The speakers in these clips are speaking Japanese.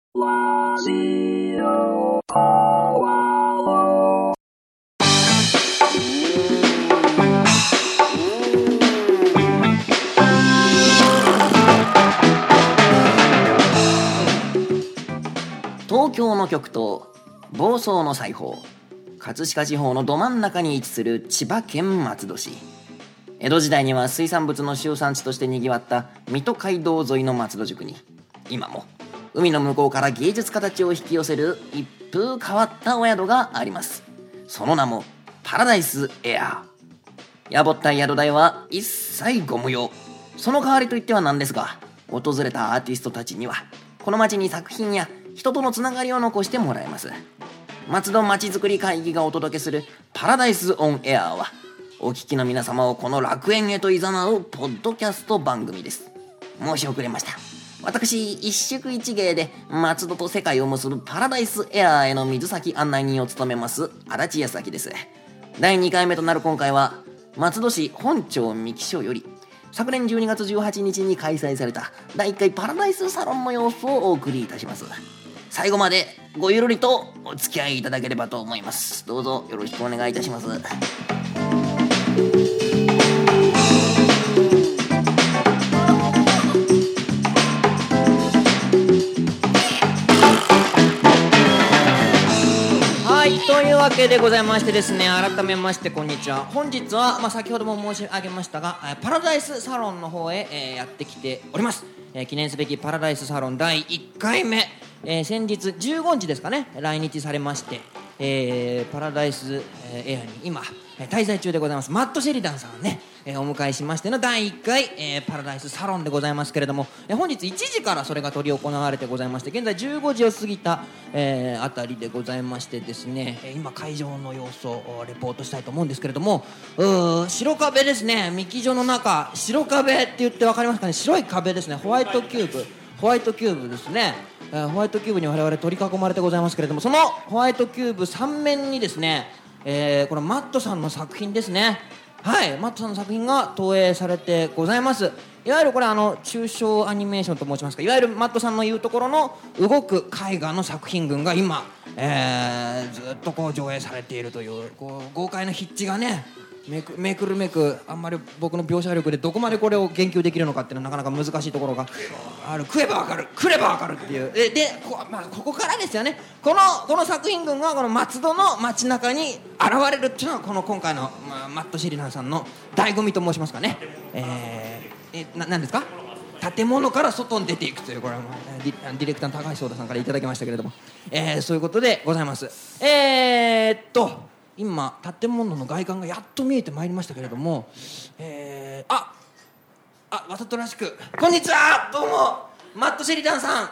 ラジオポアロ東京の極東、房総の西方、葛飾地方のど真ん中に位置する千葉県松戸市。江戸時代には水産物の集産地としてにぎわった水戸街道沿いの松戸宿に、今も海の向こうから芸術家たちを引き寄せる一風変わったお宿があります。その名もパラダイスエアー。やぼったい宿代は一切ご無用。その代わりといってはなんですが、訪れたアーティストたちにはこの街に作品や人とのつながりを残してもらえます。松戸まちづくり会議がお届けするパラダイスオンエアーは、お聞きの皆様をこの楽園へと誘うポッドキャスト番組です。申し遅れました。私一宿一芸で松戸と世界を結ぶパラダイスエアーへの水先案内人を務めます足立康明です。第2回目となる今回は、松戸市本町三木署より昨年12月18日に開催された第1回パラダイスサロンの様子をお送りいたします。最後までごゆるりとお付き合いいただければと思います。どうぞよろしくお願いいたします。というわけでございましてですね、改めましてこんにちは。本日は、先ほども申し上げましたが、パラダイスサロンの方へ、やってきております。記念すべきパラダイスサロン第1回目、先日15日ですかね、来日されまして、パラダイスエアに今滞在中でございますマット・シェリダンさんをね、お迎えしましての第1回、パラダイスサロンでございますけれども、本日1時からそれが執り行われてございまして、現在15時を過ぎた、あたりでございましてですね、今会場の様子をレポートしたいと思うんですけれども、白壁ですね。三木所の中、白壁って言って分かりますかね。白い壁ですね。ホワイトキューブですね。ホワイトキューブに我々取り囲まれてございますけれども、そのホワイトキューブ3面にですね、このマットさんの作品ですね。はい、マットさんの作品が投影されてございます。いわゆるこれ抽象アニメーションと申しますか、いわゆるマットさんの言うところの動く絵画の作品群が今、ずっとこう上映されているという、こう豪快な筆致がね、めくるめく、あんまり僕の描写力でどこまでこれを言及できるのかっていうのはなかなか難しいところがある。食えばわかる、来ればわかるっていうでここからですよね。この作品群がこの松戸の街中に現れるっていうのは、この今回の、マット・シェリダンさんの醍醐味と申しますかね。何ですか、建物から外に出ていくという、これはディレクターの高橋壮太さんからいただきましたけれども、そういうことでございます。今建物の外観がやっと見えてまいりましたけれども、わざとらしく、こんにちは、どうもマット・シェリダンさん。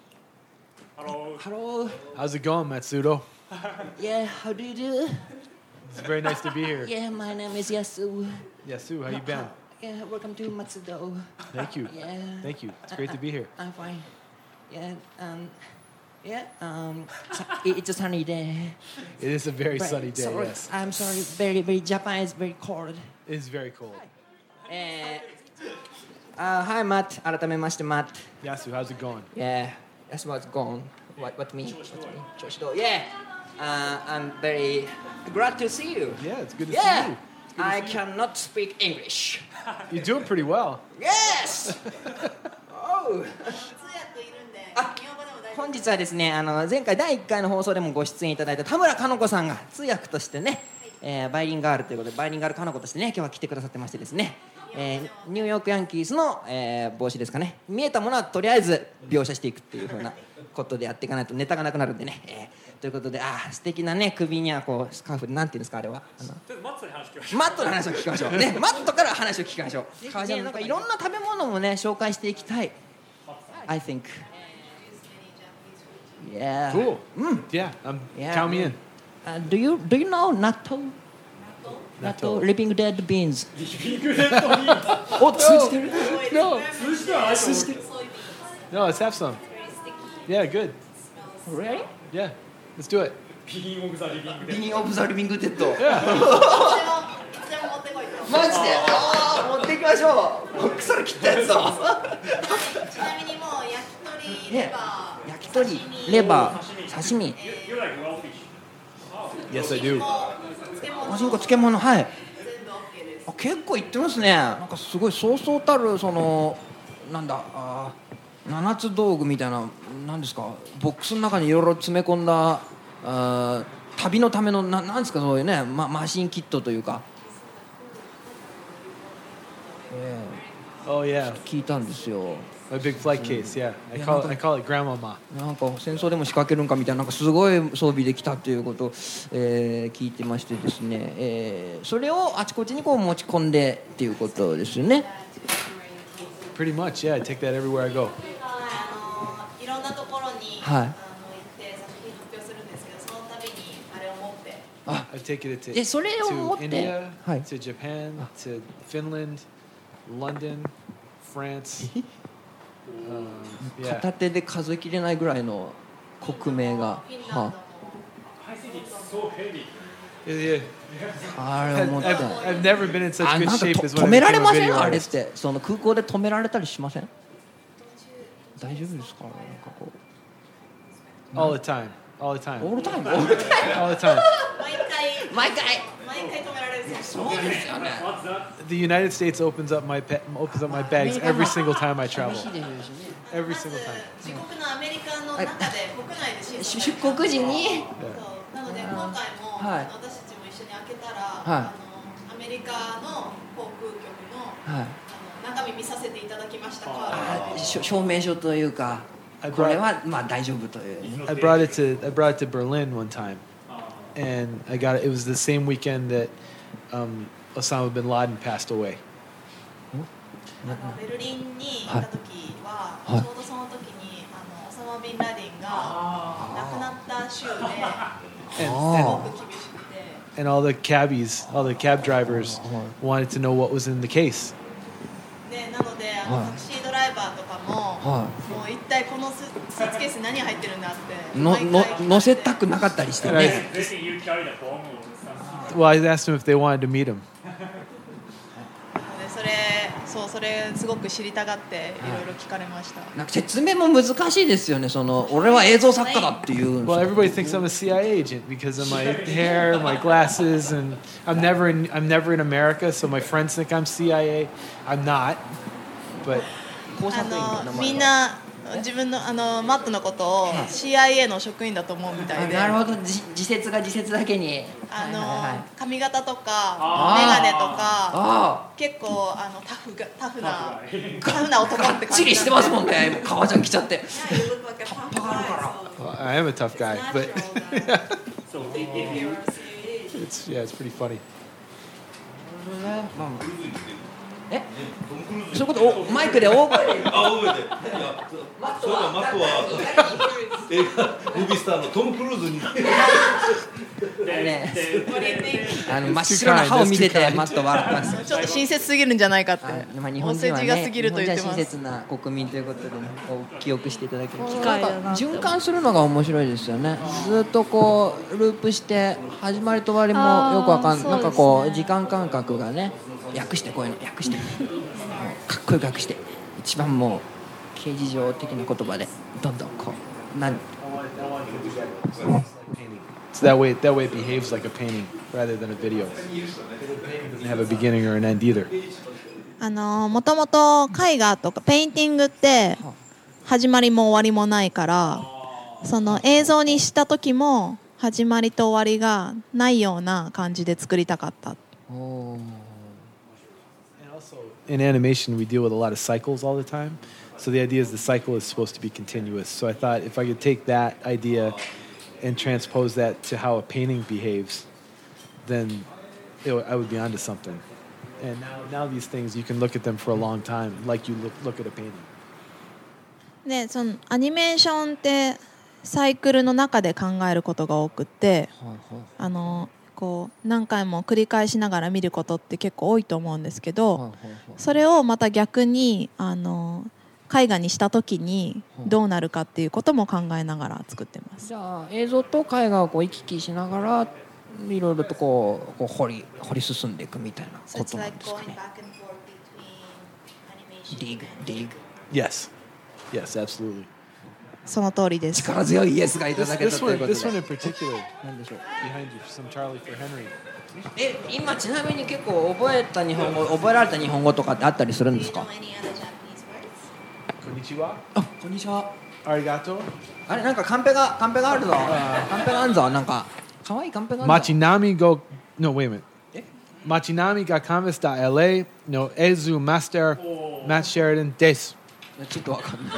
Hello. How's it going, Matsudo? Yeah, how do you do? It's very nice to be here. Yeah, my name is Yasu. Yasu, how you been? Yeah, welcome to Matsudo. Thank you. Yeah. Thank you. It's great to be here. I'm fine. It's a sunny day. It is a very But sunny day, sorry, yes. I'm sorry, very Japan is very cold. It is very cold. Hi Matt, 改めまして Matt. Yasu, how's it going? Yeah, that's what's gone. What me? Choshido. Yeah. I'm very glad to see you. Yeah, it's good to Yeah. see you. I cannot speak English. You're doing pretty well. Yes. Oh. 本日はですね、前回第1回の放送でもご出演いただいた田村かの子さんが通訳としてね、バイリンガールということで、バイリンガールかの子としてね、今日は来てくださってましてですね、ニューヨークヤンキースの、帽子ですかね。見えたものはとりあえず描写していくっていう風なことでやっていかないとネタがなくなるんでね、ということで、素敵なね、首にはこうスカーフで、なんていうんですかあれは、マットの話を聞きましょうね。マットから話を聞きましょう。なんかいろんな食べ物もね紹介していきたい。I think. Yeah. Cool. Yeah, Yeah. count me in. Do you know natto? Natto, living dead beans. Oh, no. No, let's have some. Yeah, good. Really? Yeah, let's do it. Beginning of the living dead. Yeah. マジで？持っていきましょう。腐る切ったやつだ。 ちなみにもう焼き鳥レバー。 焼焼き鳥、レバー、刺身、 Yes, I do. おしんこ、漬物、はい。あ、結構いってますね。なんかすごいそうそうたるそのなんだ七つ道具みたいな、なんですか、ボックスの中にいろいろ詰め込んだ旅のためのなんですか、そういうね、マシンキットというか、 Oh yeah, 聞いたんですよ。 my big flight case. Yeah, I call it grandmama. なんか戦争でも仕掛けるんかみたいな、なんかすごい装備できたということを、聞いてましてですね、それをあちこちにこう持ち込んでっていうことですよね。 Pretty much, yeah. I take that everywhere I go. いろんなところに、 はい。 行って作品発表するんですけど、その度にあれを持って。 I've taken it でそれを持っ to て、 India, はい、 to Japan, to Finland, London, France. Yeah. 片手で数えきれないぐらいの国名が、 フィンランドも、 Yeah, yeah. あれを持って、 I've never been in such あ、 good なんか shape と as 止 when め I られ became ま a せん？ video あれっ artist. てその空港で止められたりしません？大丈夫ですか？なんかこう All the time, all the オ time, ールタイム、オールタイ all the time. 毎回毎回止められるんですよ。 そうですよね。 The United States opens up my bags every single time I travel. 厳しいですよね。 Every まず single time. 自国のアメリカの中で国内で審査出国時に、 そうなので今回も、 はい私たちも一緒に開けたら、 はいアメリカの航空局の、 はい、 中身見させていただきましたか。 証明書というか、これはまあ大丈夫というね。 I brought it to Berlin one time, and I got it. It was the same weekend that Osama bin Laden passed away. ベルリンに行った時は、 はいちょうどその時にオサマ・ビンラディンが亡くなった週で、す And, ご and, く厳しくて。 and all the cabbies, all the cab drivers wanted to know what was in the case. でなのでタクシードライバーとかも、 はもう一体このスーツケースに何入ってるんだってい、の毎回乗せたくなかったりしてね。 Well, I asked them if they wanted to meet him. でそれすごく知りたがっていろいろ聞かれました。 なんか説明も難しいですよね。その俺は映像作家だっていうんです Well, よ。 everybody thinks I'm a CIA agent because of my hair, my glasses, and I'm never in America, so my friends think I'm CIA. I'm not, but 工作員の名前はみんな自分のマットのことを CIA の職員だと思うみたいで、 なるほど、自説が自説だけに、はいはいはい、 髪型とかあーメガネとかあ結構タフな男って感じ。 ー、がっちりしてますもんね。革ジャン着ちゃって。 Yeah, you look like a tough guy, so well, I am a tough guy. it's But natural that if you're a CIA agent. it's pretty funny. まあえ、そういうことをマイクで大声で。 あ、覚えて。いや、そういえばマットは映画ムービースターのトム・クルーズに。 ね、 What do you think? 真っ白な歯を見せてマット笑ってます。 ちょっと親切すぎるんじゃないかって。 まあ、日本お人はね、 世辞が過ぎると言ってます。 日本人は親切な国民ということで、ね、こう記憶していただける。 機会だななんか循環するのが面白いですよね。ずっとこうループして始まりと終わりもよくわかんない。なんかこう時間感覚がね、訳してこういうの訳して、かっこよく訳して、一番もう刑事上的な言葉でどんどんこうなん。 So that way it behaves like a painting rather than a video. It doesn't have a beginning or an end either. もともと絵画とかペインティングって始まりも終わりもないから、その映像にした時も始まりと終わりがないような感じで作りたかった。 おー And also in animation, we deal with a lot of cycles all the time. So the idea is the cycle is supposed to be continuous. So I thought if I could take that idea and transpose that to how a painting behaves, then I would be onto something. And now these things, you can look at them for a long time, like you look at a painting. でそのアニメーションってサイクルの中で考えることが多くって、こう何回も繰り返しながら見ることって結構多いと思うんですけど、それをまた逆に絵画にした時にどうなるかっていうことも考えながら作ってます。 じゃあ映像と絵画をこう行き来しながらいろいろとこう掘り進んでいくみたいなことなんですかね。ディグ。 Yes, yes, absolutely. その通りです。 力強いイエスがいただけたということで。 This one in particular, 何でしょう。 behind you, some Charlie for Henry. 今ちなみに結構覚えられた日本語とかってあったりするんですか？ こんにちは。 あ、こんにちは。 ありがとう。 あれなんかカンペがあるぞ。カンペがあるぞ。なんか可愛いカンペがあるぞ。 街並みが No, wait a minute. 街並みがカンバスだ LA の映像マスター Matt Sheridan です。 ちょっとわかんない。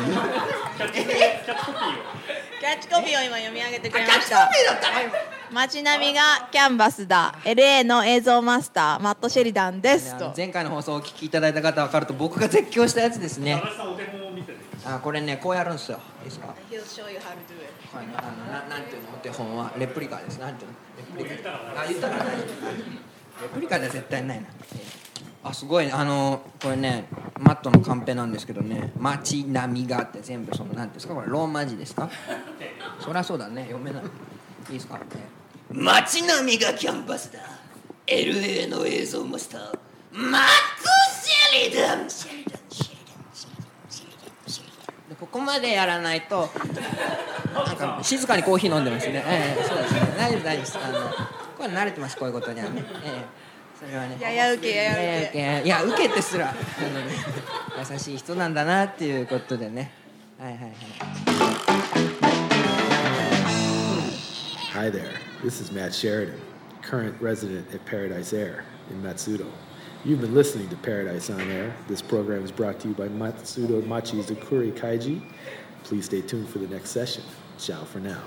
キャッチコピーを今読み上げてくれました。街並みがキャンバスだ LA の映像マスターマット・シェリダンですと。 前回の放送をお聞きいただいた方は分かると僕が絶叫したやつですね。あ、これねこうやるんですよ。いいですか？ He'll show you how to do it。 はい、なんていうのお手本はレプリカです。なんていうのレプリカ。あ、言ったらない。レプリカでは絶対ないな。あ、すごいこれねマットのカンペなんですけどね、街並みがって全部そのなんていうんですかこれローマ字ですか？そりゃそうだね読めない。いいですか？街並みがキャンバスだ LA の映像マスターマット・シェリダンでここまでやらないとなんか静かにコーヒー飲んでますね。そうですね。大丈夫ですこれ慣れてますこういうことにはね。それはね。 や受けいや受けてすら優しい人なんだなっていうことでね。はいはいはい。 Hi there, this is Matt Sheridan, current resident at Paradise Air in Matsudo. You've been listening to Paradise on Air. This program is brought to you by Matsudo Machi's Zakuri Kaiji. Please stay tuned for the next session. Ciao for now.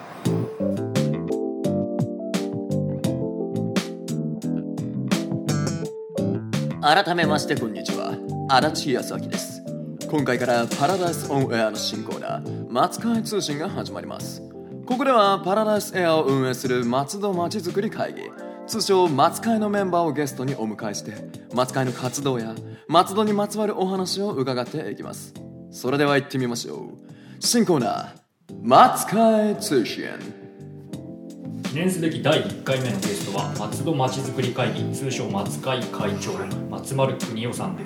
改めましてこんにちは、足立康明です。今回からパラダイスオンエアの新コーナー、松会通信が始まります。ここではパラダイスエアを運営する松戸まちづくり会議、通称松会のメンバーをゲストにお迎えして松会の活動や松戸にまつわるお話を伺っていきます。それでは行ってみましょう。新コーナー、松会通信。 記念すべき第1回目のゲストは松戸まちづくり会議通称松会会長松丸邦夫さんです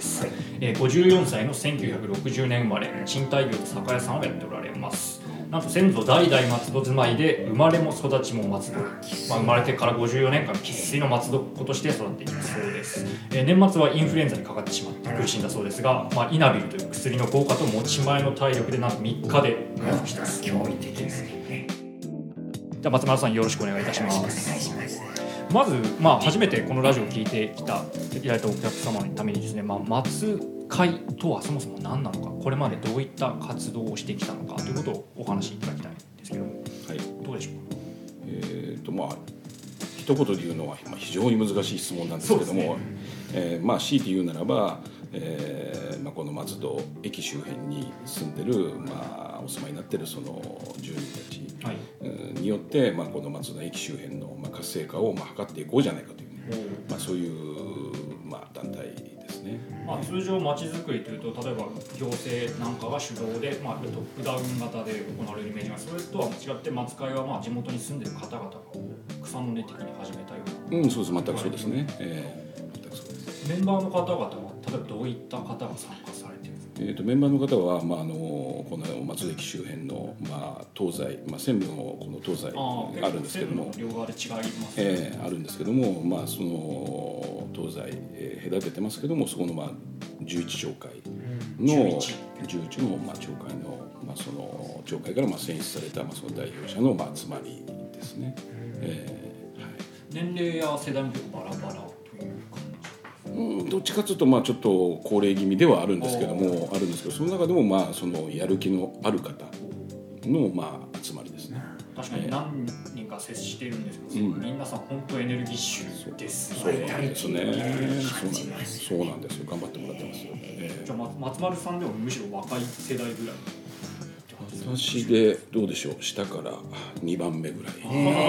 、54歳の1960年生まれ、賃貸業と酒屋さんをやっておられます。なんと先祖代々松戸住まいで生まれも育ちも松戸、生まれてから54年間生粋の松戸っ子として育っていたそうです。年末はインフルエンザにかかってしまって苦しんだそうですが、イナビルという薬の効果と持ち前の体力でなんと3日で回復したす。驚異的ですね。じゃあ松丸さんよろしくお願いいたします。まず、初めてこのラジオを聞いていただいたお客様のためにですね、松会とはそもそも何なのか、これまでどういった活動をしてきたのかということをお話しいただきたいんですけども、はい、どうでしょうか。 一言で言うのは非常に難しい質問なんですけども、強いて言うならば、この松戸駅周辺に住んでる、お住まいになってるその住人たち、によって、この松戸駅周辺の、活性化を、図っていこうじゃないかという、そういう、団体ですね。 通常まちづくりというと、例えば行政なんかが主導で、トップダウン型で行われるイメージが、それとは違って松会は地元に住んでる方々が草の根的に始めたような。 そうです、全くそうですね。 メンバーの方々は例えばどういった方が参加されているんですか？ メンバーの方は、この松戸駅周辺の、東西、線路のこの東西あるんですけども、 両側で違いますね。 あるんですけども、その東西、隔ててますけども、そこの、11町会の11の、町会の、その町会から選出された、その代表者の、集まりですね。 年齢や世代も結構バラバラという感じ。 どっちかというと、ちょっと高齢気味ではあるんですけども、その中でも、そのやる気のある方の、集まりですね。 確かに何人か接しているんですけど、皆さん本当エネルギッシュですね。 そうなんですね。そうなんですよ。頑張ってもらってますよ。 じゃあ松丸さんでもむしろ若い世代ぐらい。 私でどうでしょう、下から2番目ぐらい。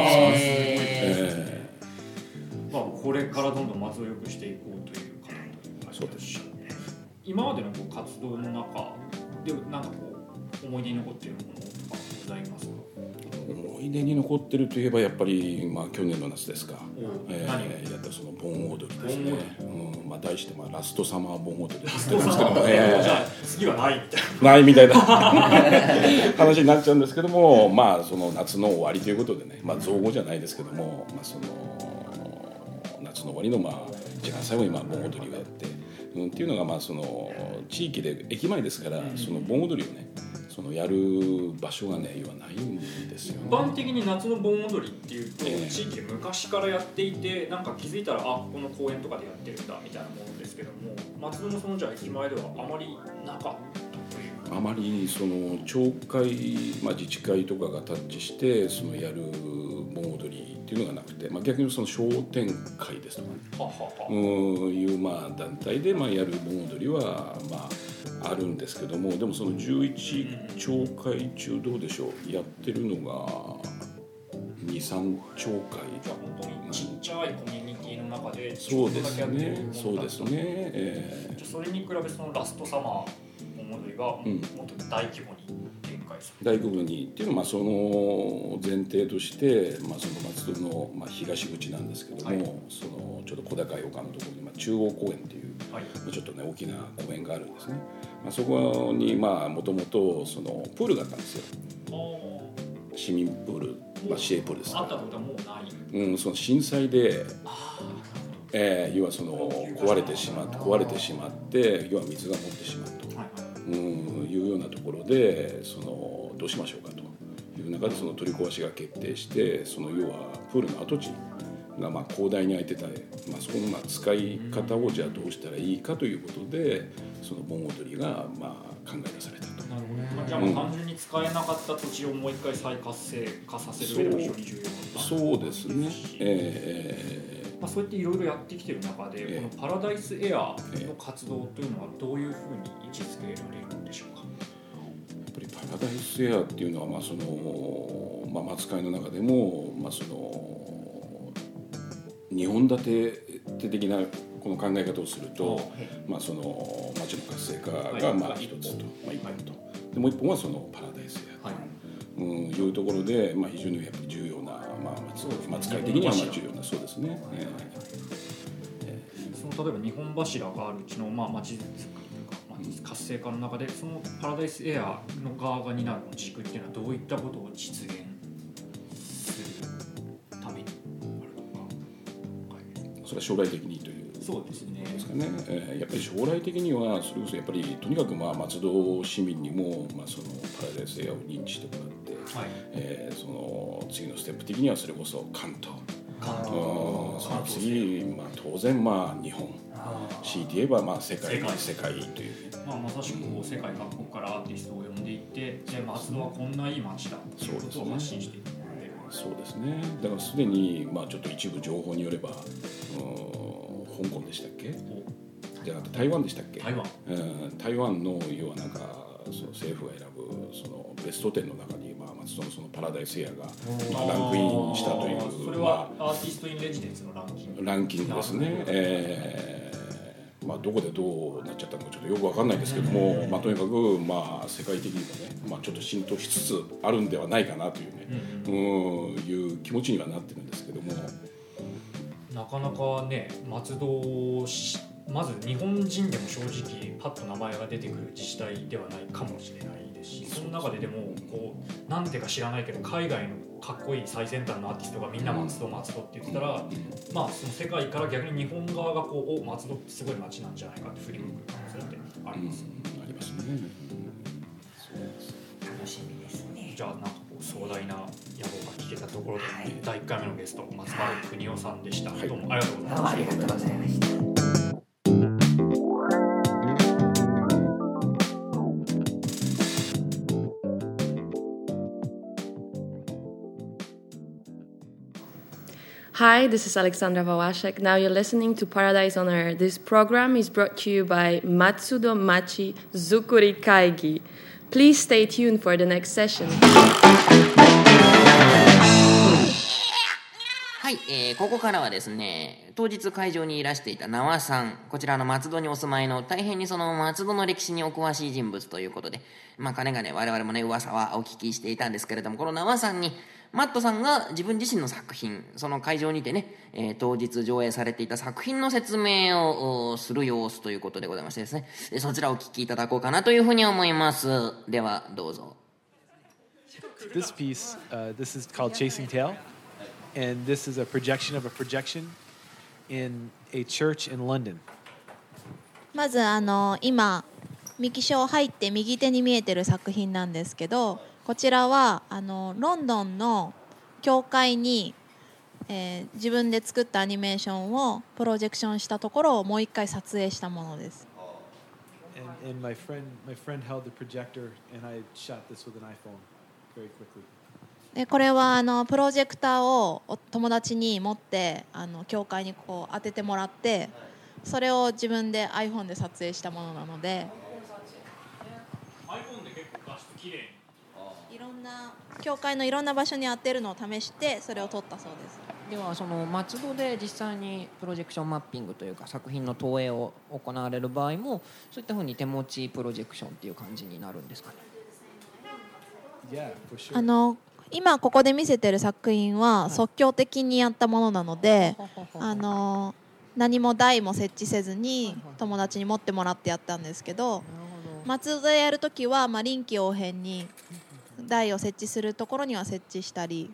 これからどんどん松を良くしていこうという方々。 そうです。 今までの活動の中でなんか思い出に残っているものとかございますか？ 思いい出に残ってるといえばやっぱり、まあ、去年の夏ですか、 何やったその盆踊りですね、まあ、題して、まあ、ラストサマー盆踊りですけども、じゃあ次はないみたいなないみたいな話になっちゃうんですけども、まあその夏の終わりということでね、まあ、造語じゃないですけども、まあ、その夏の終わりのまあ一番最後にまあ盆踊りをやって、っていうのがまあその地域で駅前ですから、その盆踊りをねそのやる場所がね要はないんですよね。 一般的に夏の盆踊りっていうと、地域で昔からやっていて、なんか気づいたらこの公園とかでやってるんだみたいなものですけども、松戸のそのじゃあ駅前ではあまりなかったという。 あまりその町会、まあ、自治会とかがタッチしてそのやる盆踊りっていうのがなくて、まあ、逆にその商店会ですとかね、いうまあ団体でまあやる盆踊りはまああるんですけども、でもその11町会中どうでしょう、やってるのが 2,3 町会。 じゃあ本当にちっちゃいコミュニティの中でそうですね、そうですね、 じゃあそれに比べそのラストサマー盆踊りはもっと大規模に展開する、 大規模にっていうのはまあその前提として、まあ、その松戸のまあ東口なんですけども、そのちょっと小高い丘のところにまあ中央公園っていう、ちょっとね大きな公園があるんですね。まあ、そこにまあもともとそのプールがあったんですよ。市民プール、まあ、市営プールですから。 あったことはもうない。 その震災で、要はその壊れてしまって要は水が持ってしまうと、いうようなところでそのどうしましょうかという中でその取り壊しが決定して、その要はプールの跡地がまあ広大に空いてた、まあ、そこのまあ使い方をじゃあどうしたらいいかということでその盆踊りがまあ考え出されたと。 なるほど、じゃあもう単純に使えなかった土地をもう一回再活性化させる上でも非常に重要なそうですね、 まあ、そうやっていろいろやってきてる中で、このパラダイスエアの活動というのはどういうふうに位置づけられるんでしょうか。 やっぱりパラダイスエアっていうのはまあその、まあ、松会の中でも、まあ、その2本立て的なこの考え方をすると、まあ、その町の活性化がまあ一つと、まあ、一本とでもう一本はそのパラダイスエアと、いうところで、まあ、非常にやっぱり重要な、まあ、松会的にはまあ重要なそうですね。 その例えば日本柱があるうちのまあ町づくりというか、活性化の中でそのパラダイスエアの側が担う軸っていうのはどういったことを実現するためにあるのか。 それは将来的にというそうですね。 ですかね。やっぱり将来的にはそれこそやっぱりとにかくまあ松戸市民にもまあそのパラダイスエアを認知してもらって、その次のステップ的にはそれこそ関東、その次まあ当然まあ日本、強いて言えばまあ世界という。 まさしく世界各国からアーティストを呼んでいって、じゃあ松戸はこんないい街だということを発信していく。 そうですね。だからすでにまあちょっと一部情報によれば、香港でしたっけ？じゃなくて台湾でしたっけ？台湾の要はなんかその政府が選ぶそのベスト10の中にまあ松戸のそのパラダイスエアがまあランクインしたという。 それはアーティストインレジデンスのランキングですね。まあどこでどうなっちゃったのかちょっとよくわかんないですけども、まあとにかくまあ世界的にもね、まあちょっと浸透しつつあるんではないかなというね、いう気持ちにはなってるんですけども。 なかなかね、松戸まず日本人でも正直パッと名前が出てくる自治体ではないかもしれないですし、その中ででもこうなんてか知らないけど海外のかっこいい最先端のアーティストがみんな松戸って言ってたら、まあその世界から逆に日本側がこう松戸ってすごい街なんじゃないかって振り向く可能性ってあります。 ありますね。 楽しみですね。 じゃあなんか壮大な野望が聞けたところで、第1回目のゲスト松丸邦夫さんでした。どうもありがとうございました。 ありがとうございました。 Hi, this is Alexandra Wawaszek. Now you're listening to Paradise on Air. This program is brought to you by Matsudo Machi Zukuri Kaigi. Please stay tuned for the next session. はい、ここからはですね、当日会場にいらしていた縄さん、こちらの松戸にお住まいの大変にその松戸の歴史にお詳しい人物ということで、まあかねがね我々もね噂はお聞きしていたんですけれども、この縄さんにマットさんが自分自身の作品、その会場にてね、当日上映されていた作品の説明をする様子ということでございましてですね、そちらをお聞きいただこうかなというふうに思います。ではどうぞ。 This piece, this is called Chasing Tail, and this is a projection of a projection in a church in London. まず今ミキショー入って右手に見えてる作品なんですけど、こちらはロンドンの教会に、自分で作ったアニメーションをプロジェクションしたところをもう一回撮影したものです。 And my friend held the projector, and I shot this with an iPhone very quickly. でこれはプロジェクターを友達に持って教会にこう当ててもらって、それを自分で iPhone で撮影したものなので、 iPhone で結構画質綺麗にいろんな教会のいろんな場所に当てるのを試してそれを撮ったそうです。 ではその松戸で実際にプロジェクションマッピングというか作品の投影を行われる場合もそういったふうに手持ちプロジェクションっていう感じになるんですかね。 Yeah, for sure. 今ここで見せてる作品は即興的にやったものなので、何も台も設置せずに友達に持ってもらってやったんですけど、松戸でやるときは臨機応変に台を設置するところには設置したり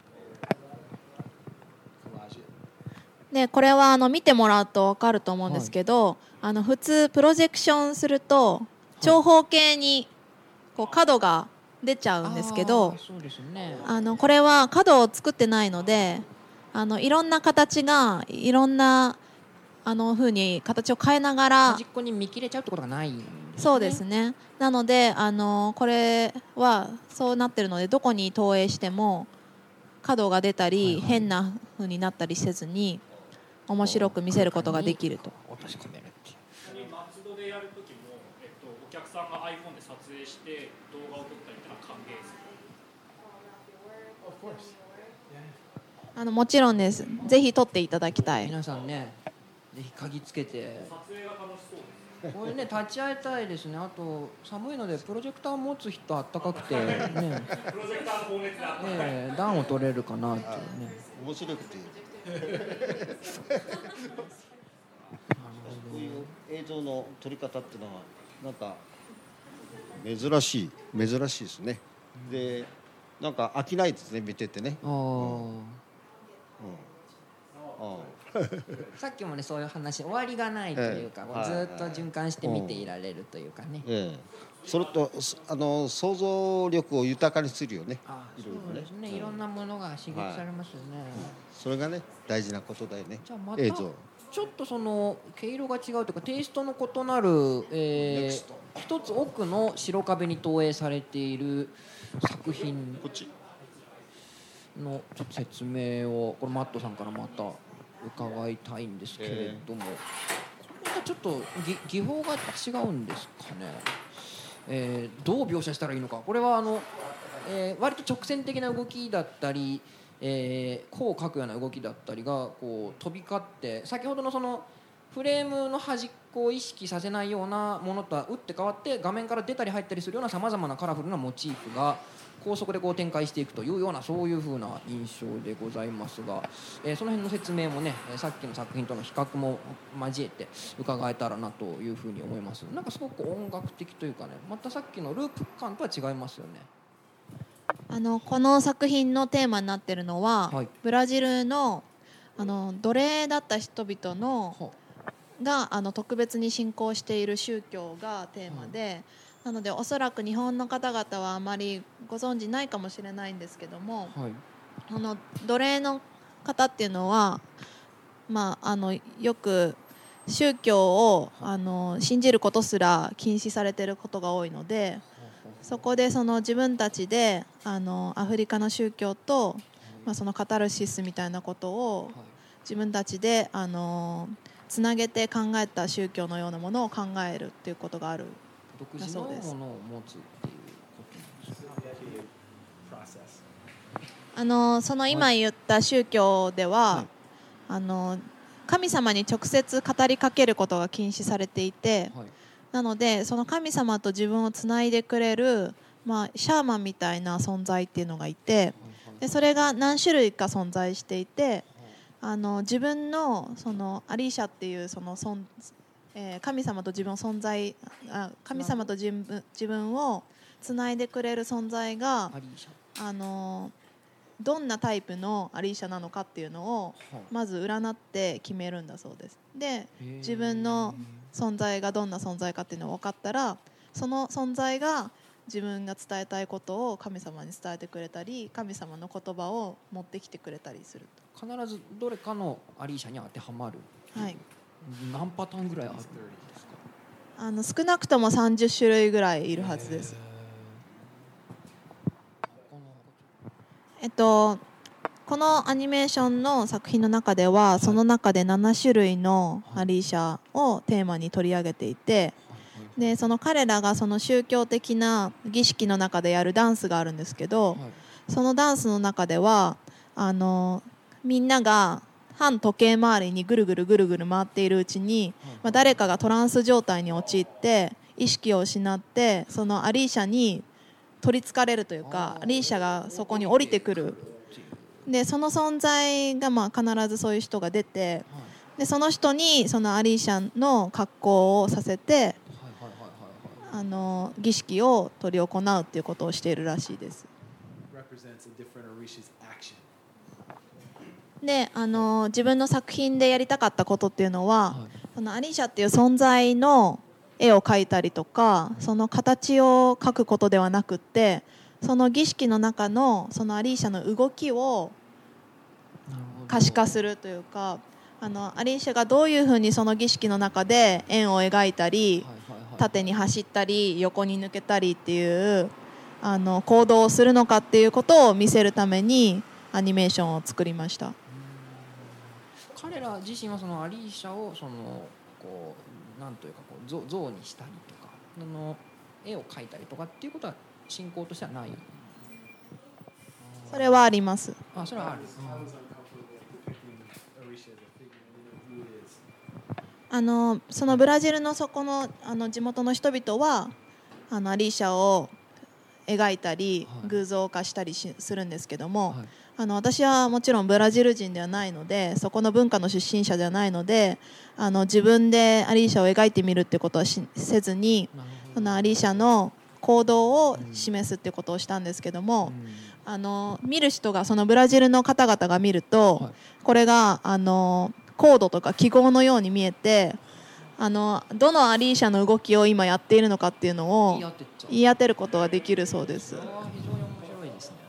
で、これは見てもらうと分かると思うんですけど、普通プロジェクションすると長方形にこう角が出ちゃうんですけど、 そうですね、 これは角を作ってないのでいろんな形がいろんな風に形を変えながら端っこに見切れちゃうってことがないんですね。 そうですね。なのでこれはそうなってるのでどこに投影しても角が出たり、変な風になったりせずに面白く見せることができると。 落とし込めるっていう。 松戸でやるときも、お客さんが iPhone で撮影して動画を撮ったりってのは歓迎です。 もちろんです。ぜひ撮っていただきたい。 皆さんね、ぜひ鍵つけて撮影が楽しそうです。 これね立ち会いたいですね。あと寒いのでプロジェクターを持つ人あったかくてね、 プロジェクターの放熱であったかい。 暖を取れるかなっていうね。 面白くてこういう映像の撮り方っていうのはなんか珍しいですね。でなんか飽きないですね、見ててね。 さっきもねそういう話、終わりがないというか、ずっと循環して見ていられるというかね。 それと想像力を豊かにするよね。 そうですね、いろんなものが刺激されますよね。 それがね大事なことだよね。 じゃあまた映像ちょっとその毛色が違うというかテイストの異なる、一つ奥の白壁に投影されている作品のちょっと説明をこれマットさんからまた伺いたいんですけれども、これはちょっと技法が違うんですかね。どう描写したらいいのか。これは割と直線的な動きだったり、弧を描くような動きだったりがこう飛び交って、先ほどのそのフレームの端っこを意識させないようなものとは打って変わって画面から出たり入ったりするようなさまざまなカラフルなモチーフが高速でこう展開していくというようなそういう風な印象でございますが、その辺の説明もねさっきの作品との比較も交えて伺えたらなという風に思います。なんかすごく音楽的というかね、またさっきのループ感とは違いますよね。 この作品のテーマになっているのは、ブラジルの奴隷だった人々のが特別に信仰している宗教がテーマで、なのでおそらく日本の方々はあまりご存じないかもしれないんですけども、奴隷の方っていうのは、よく宗教を信じることすら禁止されていることが多いので、そこでその自分たちでアフリカの宗教と、そのカタルシスみたいなことを自分たちでつなげて考えた宗教のようなものを考えるっていうことがある。 独自のものを持つっていうことなんですか。 その今言った宗教では、神様に直接語りかけることが禁止されていて、なのでその神様と自分をつないでくれる、シャーマンみたいな存在っていうのがいて、 でそれが何種類か存在していて、自分のそのアリーシャっていうその神様と自分を神様と自分をつないでくれる存在がどんなタイプのアリーシャなのかっていうのをまず占って決めるんだそうです。で自分の存在がどんな存在かっていうのが分かったら、その存在が自分が伝えたいことを神様に伝えてくれたり、神様の言葉を持ってきてくれたりすると。必ずどれかのアリーシャに当てはまる。 はい。 何パターンぐらいあるんですか？少なくとも30種類ぐらいいるはずです。このアニメーションの作品の中では、その中で7種類のアリーシャをテーマに取り上げていて、でその彼らがその宗教的な儀式の中でやるダンスがあるんですけど、そのダンスの中ではみんなが反時計回りにぐるぐるぐるぐる回っているうちに、誰かがトランス状態に陥って意識を失って、そのアリーシャに取りつかれるというか、アリーシャがそこに降りてくる。でその存在が必ずそういう人が出て、でその人にそのアリーシャの格好をさせて儀式を執り行うっていうことをしているらしいです。で自分の作品でやりたかったことっていうのは、そのアリーシャっていう存在の絵を描いたりとか、その形を描くことではなくって、その儀式の中のそのアリーシャの動きを可視化するというか、アリーシャがどういうふうにその儀式の中で円を描いたり、縦に走ったり横に抜けたりっていう行動をするのかっていうことを見せるためにアニメーションを作りました。 彼ら自身はそのアリーシャをなんというか像にしたりとか絵を描いたりとかっていうことは信仰としてはない。 それはあります。 それはある。 そのブラジルのそこの地元の人々はアリーシャを描いたり偶像化したりするんですけども、私はもちろんブラジル人ではないので、そこの文化の出身者ではないので、自分でアリーシャを描いてみるってことはせずに、そのアリーシャの行動を示すってことをしたんですけども、見る人がそのブラジルの方々が見ると、これがコードとか記号のように見えて、どのアリーシャの動きを今やっているのかっていうのを言い当てることができるそうです。 非常に面白いですね。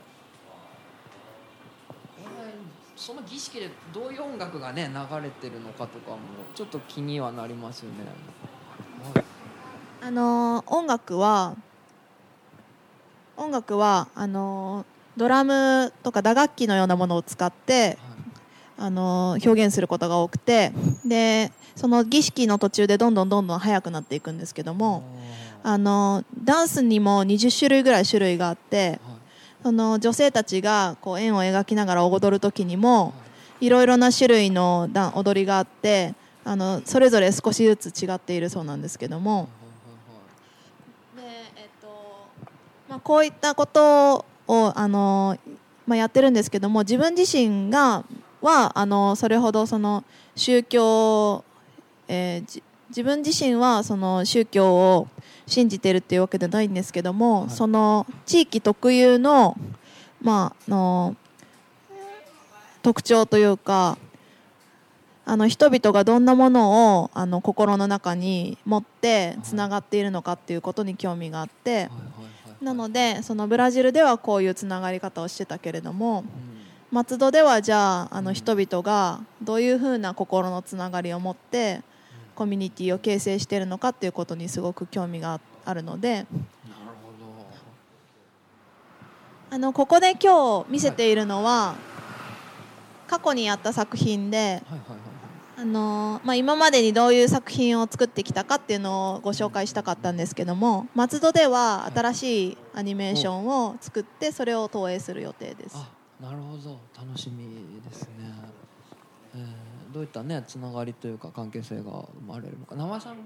その儀式でどういう音楽がね流れてるのかとかもちょっと気にはなりますよね。 音楽はドラムとか打楽器のようなものを使って表現することが多くて、でその儀式の途中でどんどん速くなっていくんですけども、ダンスにも20種類ぐらい種類があって、その女性たちが円を描きながら踊る時にもいろいろな種類の踊りがあって、それぞれ少しずつ違っているそうなんですけども、でこういったことをやってるんですけども、自分自身はそれほどその宗教、自分自身はその宗教を信じているっていうわけではないんですけども、その地域特有の、特徴というか、人々がどんなものを心の中に持ってつながっているのかっていうことに興味があって、なのでそのブラジルではこういうつながり方をしてたけれども、松戸ではじゃあ人々がどういうふうな心のつながりを持ってコミュニティを形成しているのかっていうことにすごく興味があるので、ここで今日見せているのは過去にやった作品で、今までにどういう作品を作ってきたかっていうのをご紹介したかったんですけども、松戸では新しいアニメーションを作ってそれを投影する予定です。 なるほど、楽しみですね。どういったねつながりというか関係性が生まれるのか、縄さん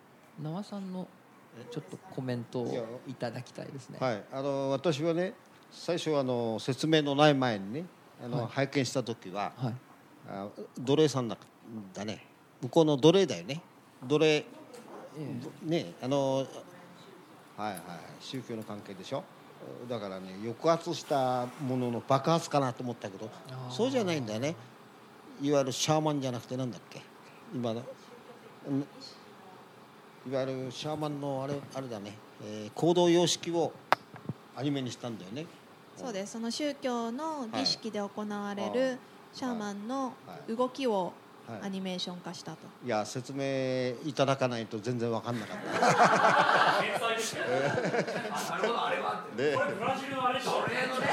のちょっとコメントをいただきたいですね。 はい、私はね最初説明のない前にねはい拝見した時は、 はい奴隷さんだね、向こうの奴隷だよね、奴隷ねはいはい、宗教の関係でしょ。だからね、抑圧したものの爆発かなと思ったけど、そうじゃないんだよね。いわゆるシャーマンじゃなくてなんだっけ、今のいわゆるシャーマンのあれだね、行動様式をアニメにしたんだよね。 そうです。その宗教の儀式で行われるシャーマンの動きをアニメーション化したと。 いや、説明いただかないと全然分かんなかった。 天才ですね。 なるほど、あれはこれブラジルのあれでしょ。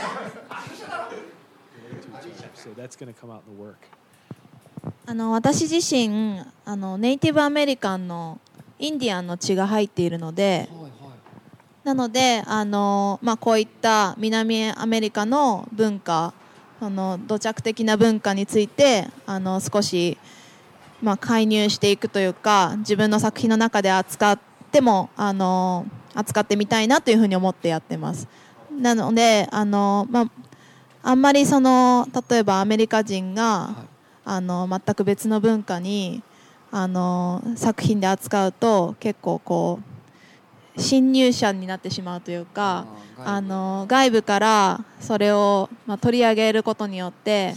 So that's going to come out in the work. 私自身ネイティブアメリカンのインディアンの血が入っているので、なのでこういった南アメリカの文化、土着的な文化について少し介入していくというか、自分の作品の中で扱ってみたいなというふうに思ってやってます。なのであんまり例えばアメリカ人が、全く別の文化に作品で扱うと結構こう侵入者になってしまうというか、外部からそれを取り上げることによって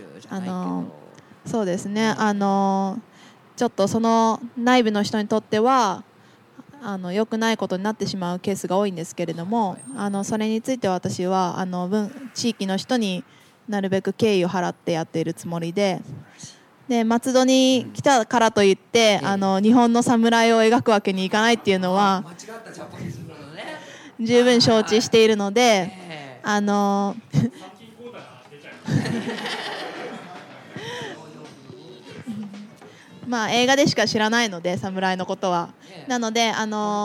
そうですね、ちょっとその内部の人にとっては良くないことになってしまうケースが多いんですけれども、それについて私は地域の人になるべく敬意を払ってやっているつもりで、松戸に来たからといって日本の侍を描くわけにいかないっていうのは十分承知しているので、映画でしか知らないので侍のことは。なので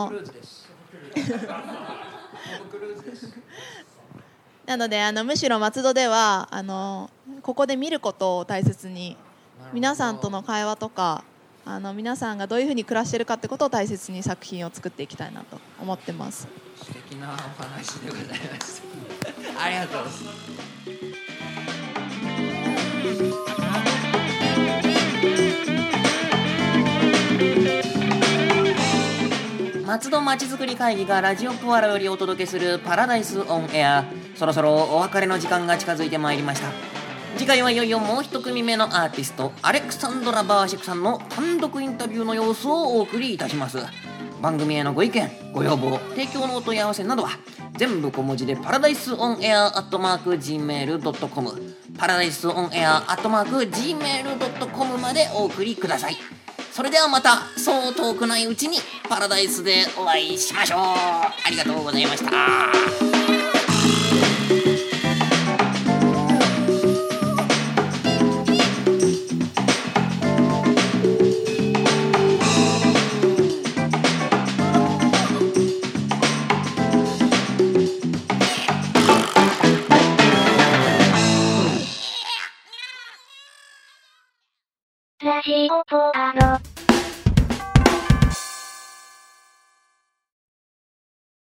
むしろ松戸ではここで見ることを大切に、皆さんとの会話とか皆さんがどういうふうに暮らしているかってことを大切に作品を作っていきたいなと思ってます。 素敵なお話でございましたありがとうございます。松戸まちづくり会議がラジオポアロよりお届けするパラダイスオンエア、そろそろお別れの時間が近づいてまいりました。次回はいよいよもう一組目のアーティストアレクサンドラ・バーシェクさんの単独インタビューの様子をお送りいたします。番組へのご意見ご要望提供のお問い合わせなどは全部小文字でパラダイスオンエア@gmail.com パラダイスオンエア@gmail.com までお送りください。それではまたそう遠くないうちにパラダイスでお会いしましょう。ありがとうございました。 ラジオポアロ。